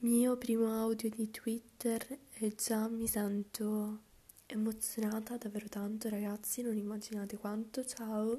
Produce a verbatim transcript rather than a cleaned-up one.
Mio primo audio di Twitter e già mi sento emozionata davvero tanto, ragazzi, non immaginate quanto. Ciao!